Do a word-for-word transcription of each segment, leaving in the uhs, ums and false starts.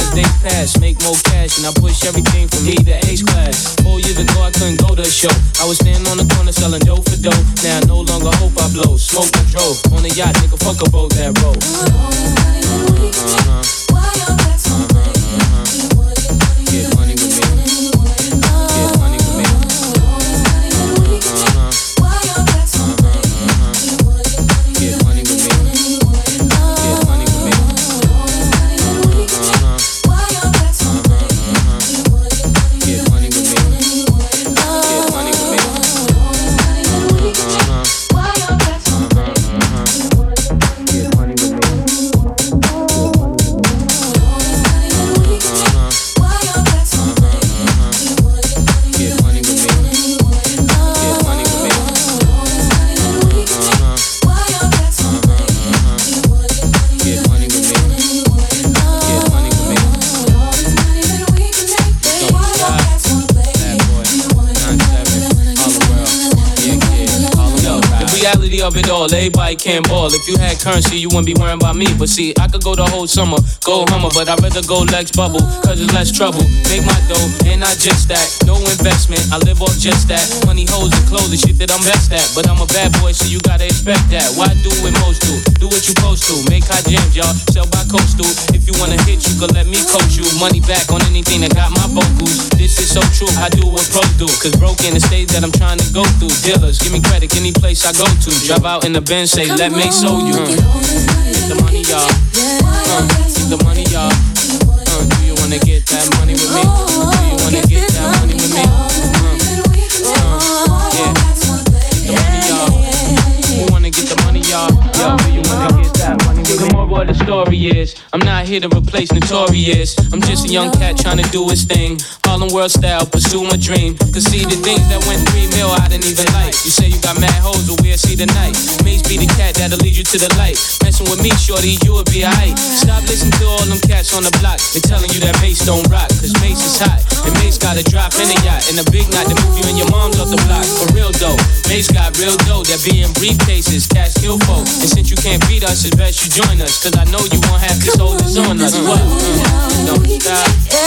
as days pass, make more cash, and I push everything from E to H class. Four years ago, I couldn't go to a show. I was standing on the corner selling dough for dough. Now I no longer hope I blow. Smoke I drove on a yacht, nigga, fuck a boat that road. Uh-huh. Why your back so big? Get money with me. Get money with me. Uh-huh. Why your back so big? Get money with me. Get money with me. Uh-huh. Why your back so big? Get money with me. Get money with me. Uh-huh. Why your back so big? Get money with me. Of it all, everybody can ball. If you had currency, you wouldn't be worrying about me. But see, I could go the whole summer, go Hummer, but I'd rather go Lex Bubble, cause it's less trouble. Make my dough, and I just that. No investment, I live off just that. Money, hoes, and clothes, the shit that I'm best at. But I'm a bad boy, so you gotta expect that. Why do what most do? Do what you supposed to. Make hot jams, y'all, sell by coastal. If you wanna hit, you could let me coach you. Money back on anything that got my vocals. This is so true, I do what pros do. Cause broke in the stage that I'm trying to go through. Dealers, give me credit, any place I go to. Drive out in the Benz, say, let me show you. Uh, get the money, y'all. Uh, get the money, y'all. Uh, do you wanna get that money with me? Do you wanna get that money with me? Uh, uh, yeah. Get the money, y'all. Who wanna get the money, y'all? Yo, do you wanna get that money with me? The moral of the story is, I'm not here to replace Notorious. I'm just a young cat trying to do his thing. Harlem World style, pursue my dream. Cause see the things that went three mil, I didn't even like. You say you got mad hoes, but we'll see tonight. Mace be the cat that'll lead you to the light. Messing with me, shorty, you would be aight. Stop listening to all them cats on the block. They're telling you that Mace don't rock, cause Mace is hot. And Mace got a drop in a yacht. And a big knot to move you and your mom's off the block. For real though, Mace got real dough that be in briefcases, cash kill folk. And since you can't beat us, it's best you join us. Cause I know you won't have these holders on us. What? Mm, don't stop.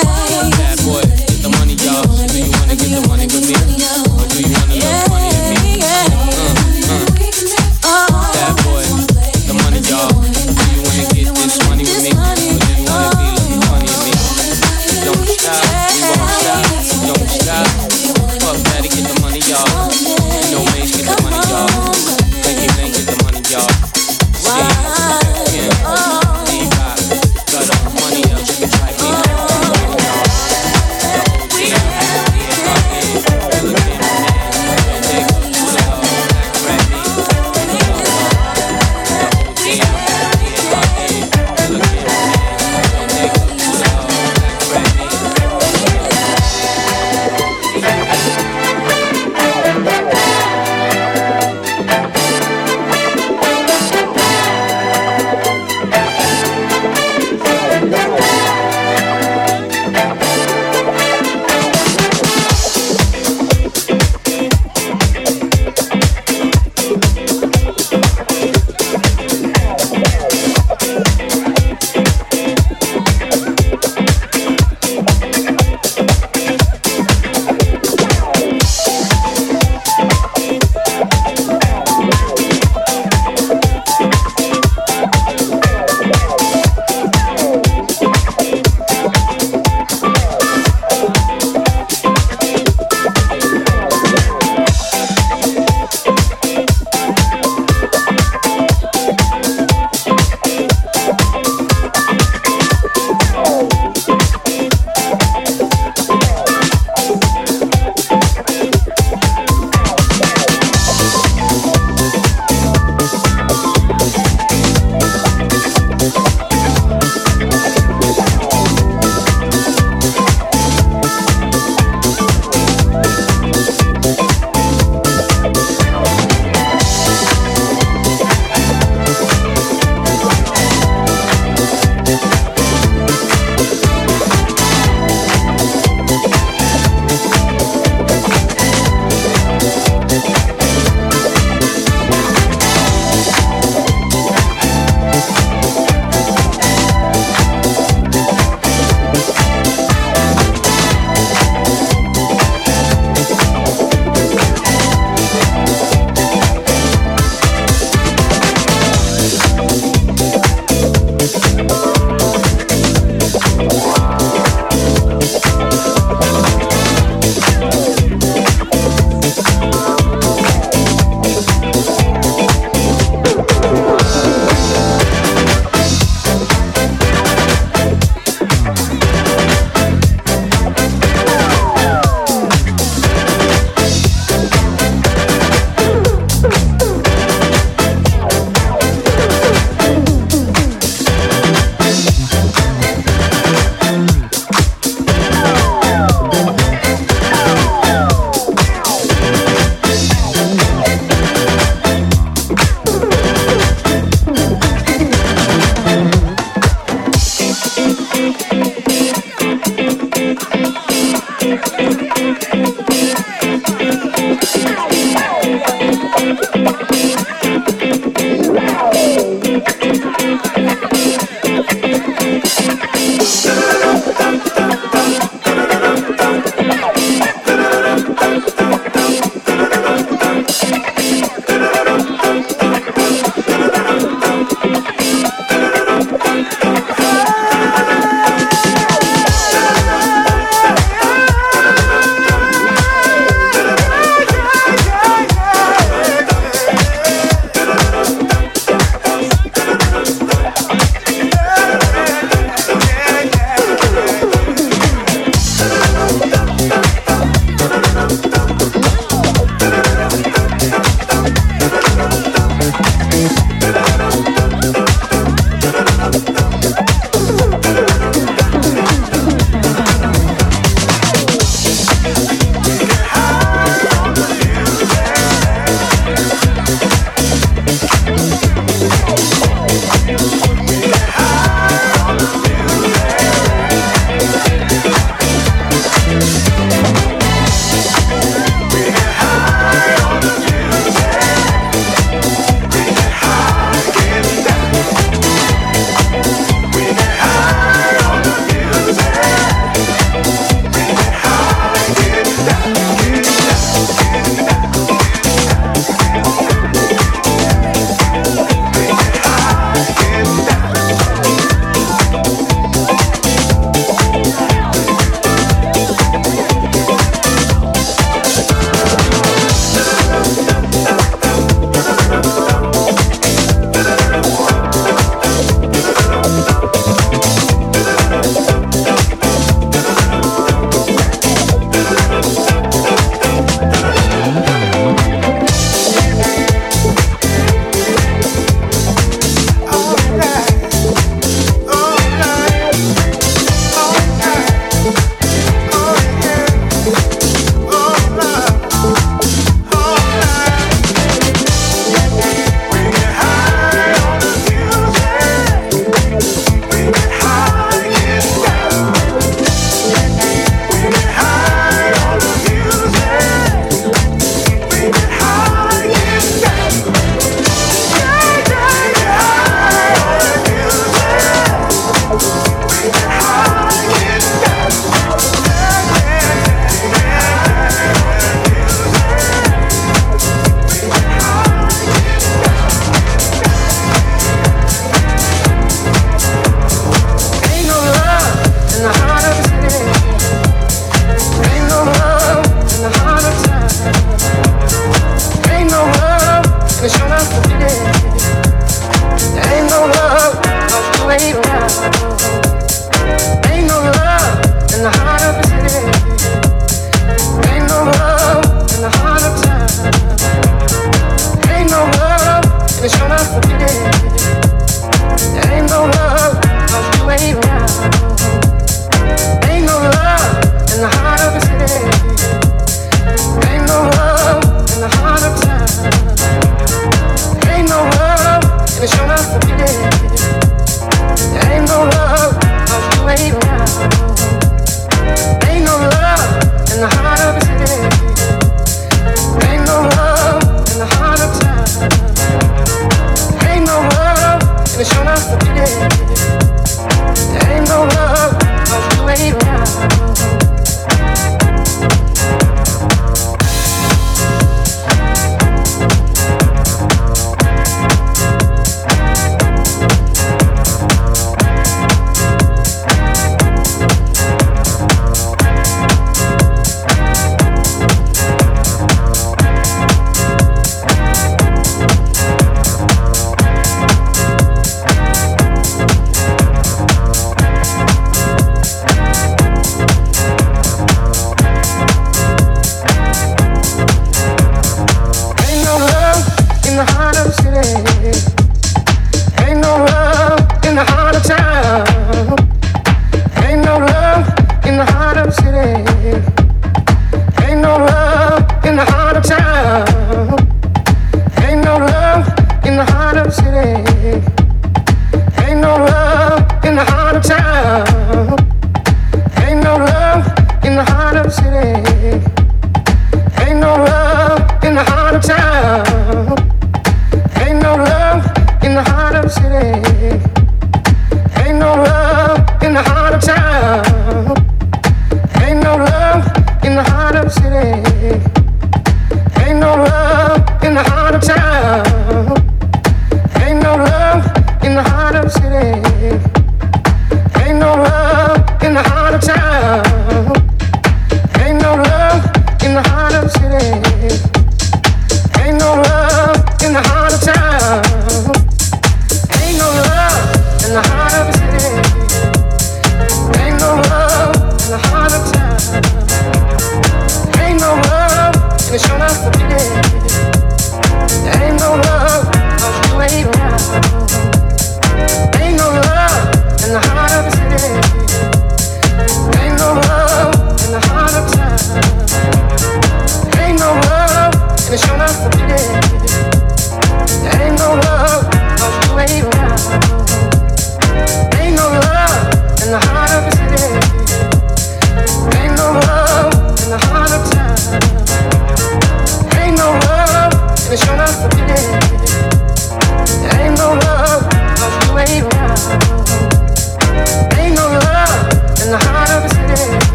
Bad boy, get the money, y'all. So do you wanna get the money with me? Or do you wanna look funny at me? Uh, uh. Bad boy, get the money, y'all. Do you wanna get this money with me? Or do you wanna be looking funny at me? Don't stop, we won't stop. Don't stop. Fuck daddy, get the money, y'all. You know Mace, get the money, y'all. Blinky Bling, get the money, y'all. See, yeah. Money else, you can try me. The whole team, yeah, yeah, yeah.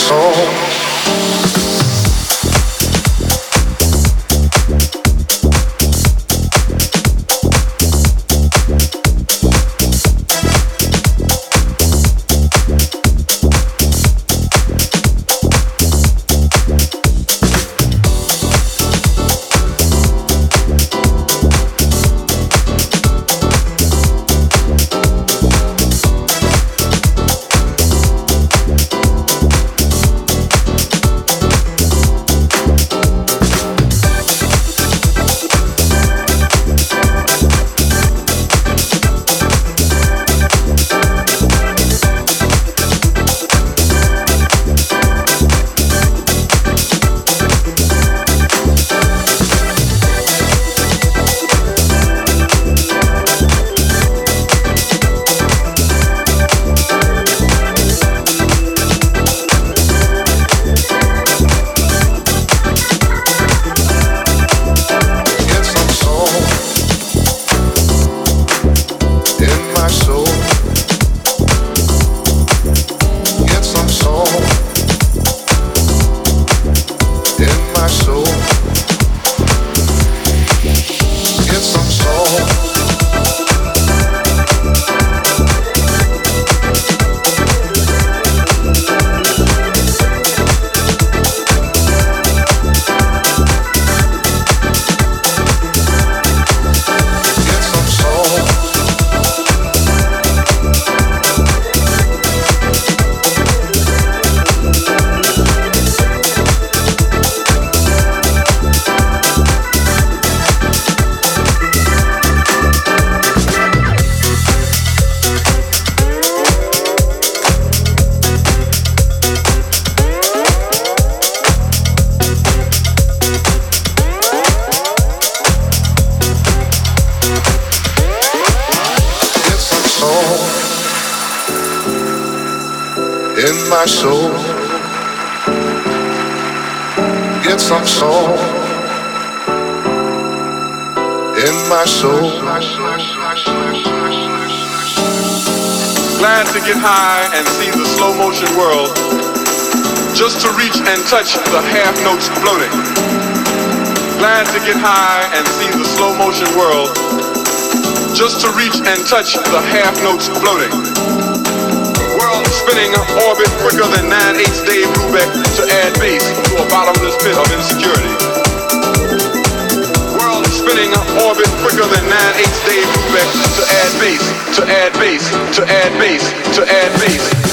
my soul. Get some soul in my soul. Glad to get high and see the slow motion world, just to reach and touch the half notes floating. Glad to get high and see the slow motion world, just to reach and touch the half notes floating. World spinning orbit quicker than nine eighths Dave Brubeck to add bass to a bottomless pit of insecurity. World spinning orbit quicker than nine eighths Dave Brubeck to add bass, to add bass, to add bass, to add bass.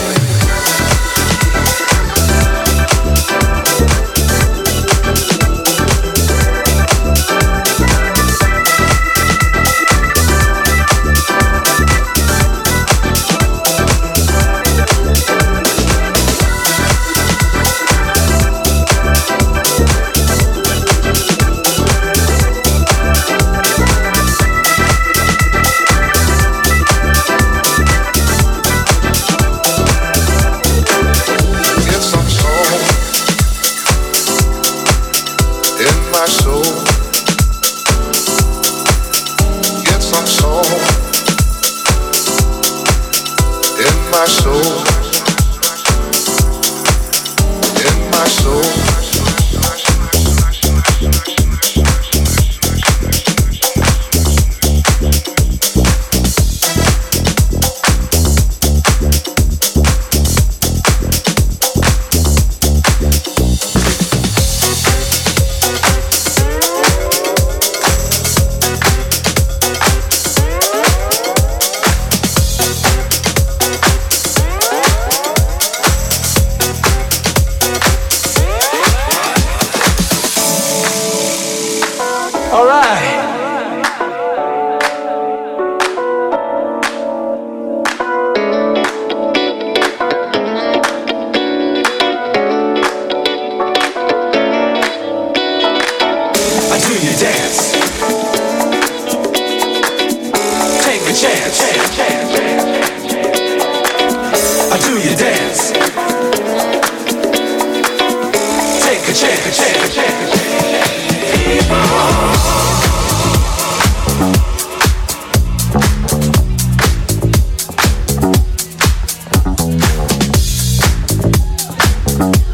Bye.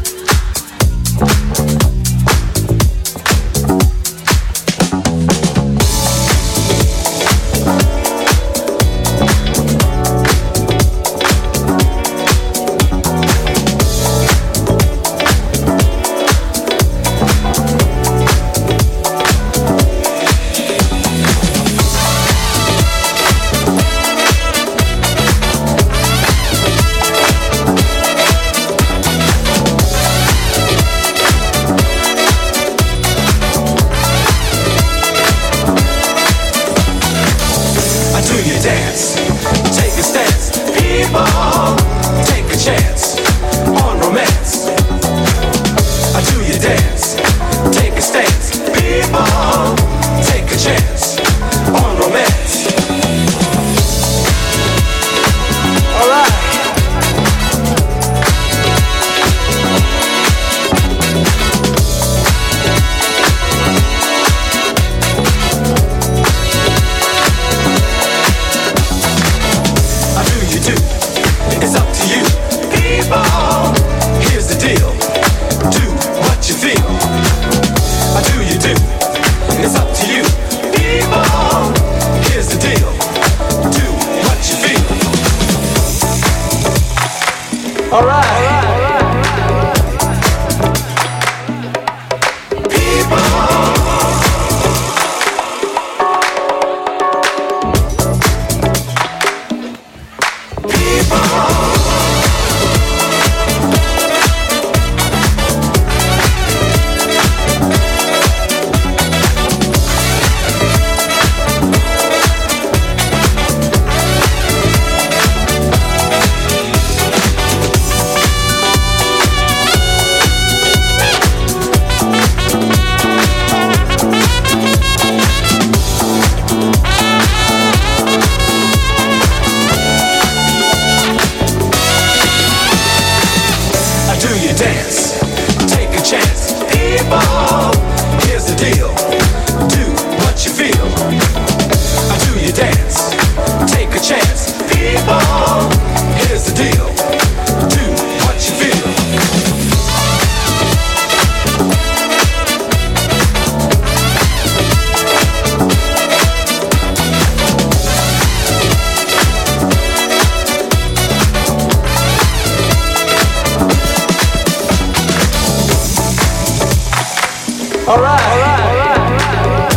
Alright, alright, alright, alright.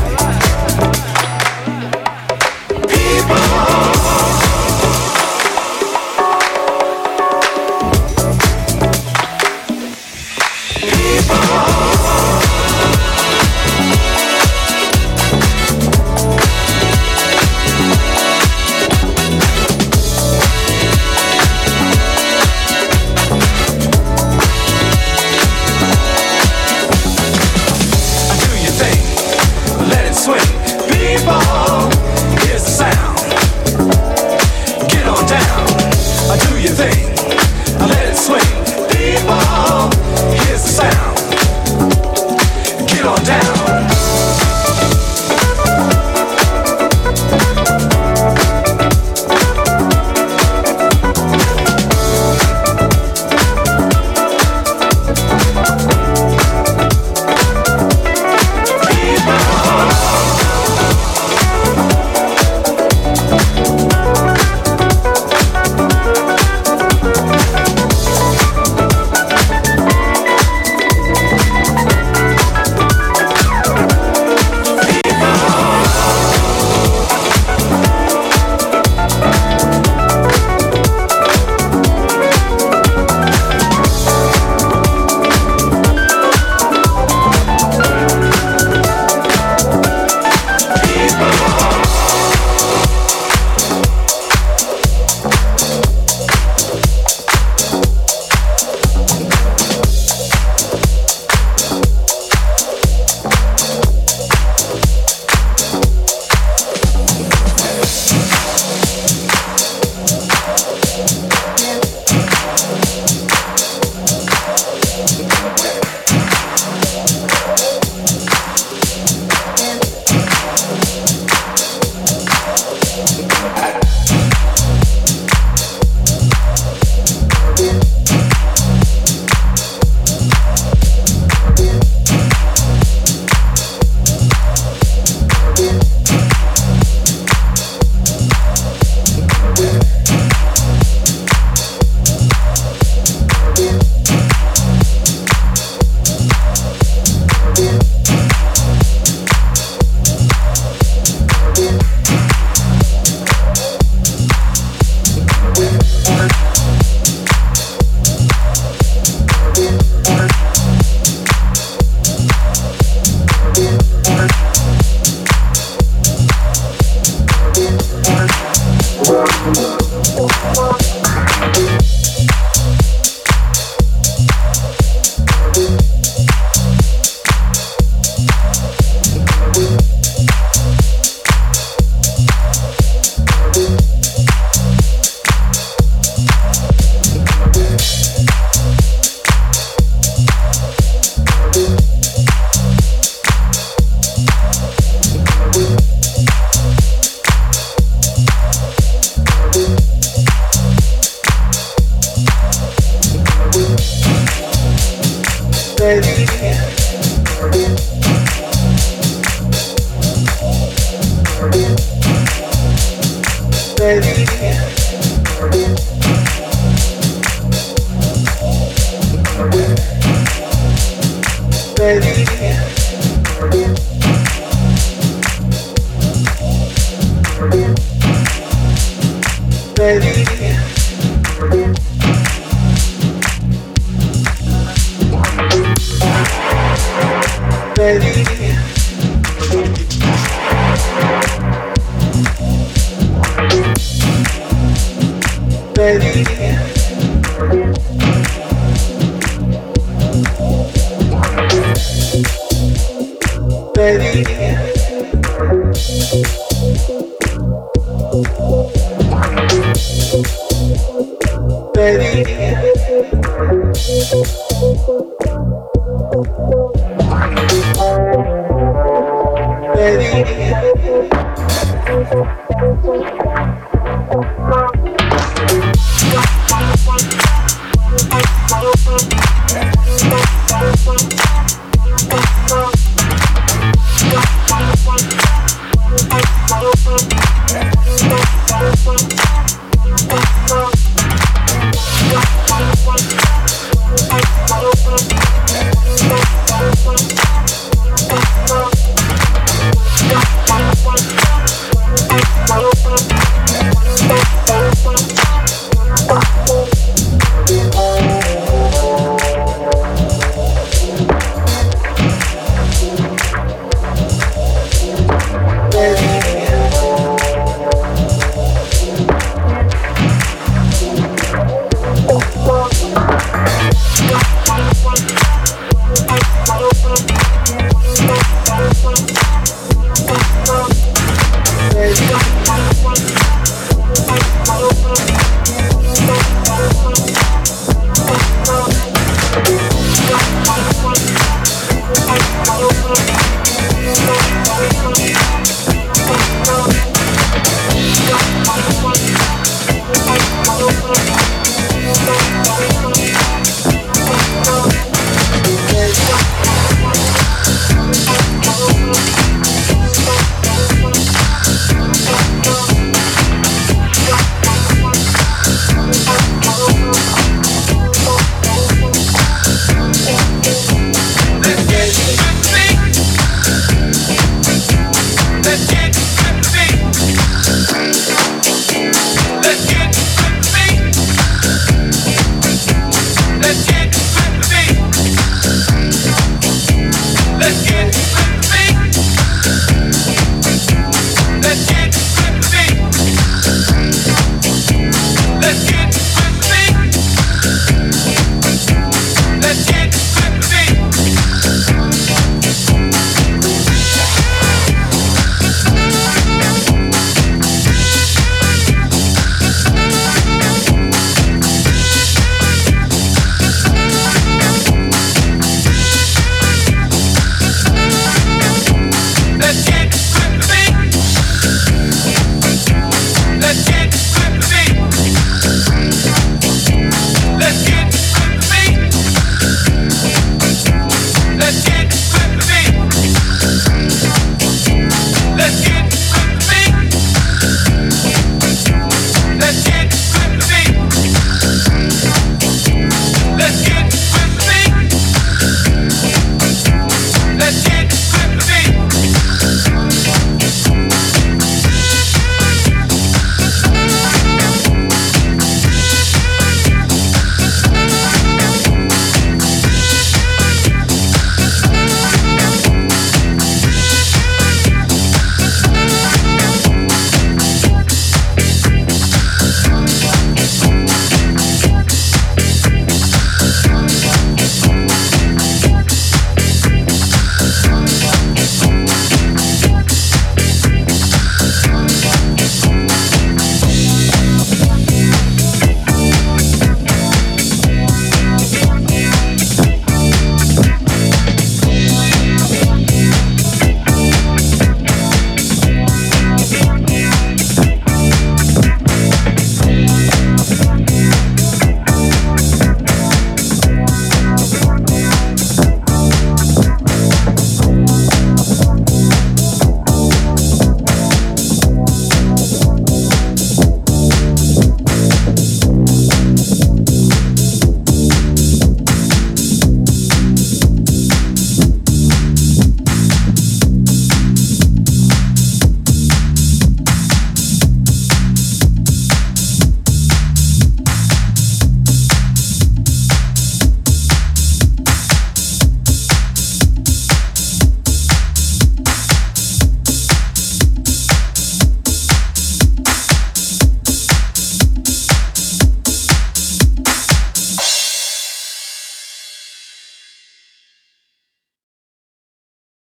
We'll be right back.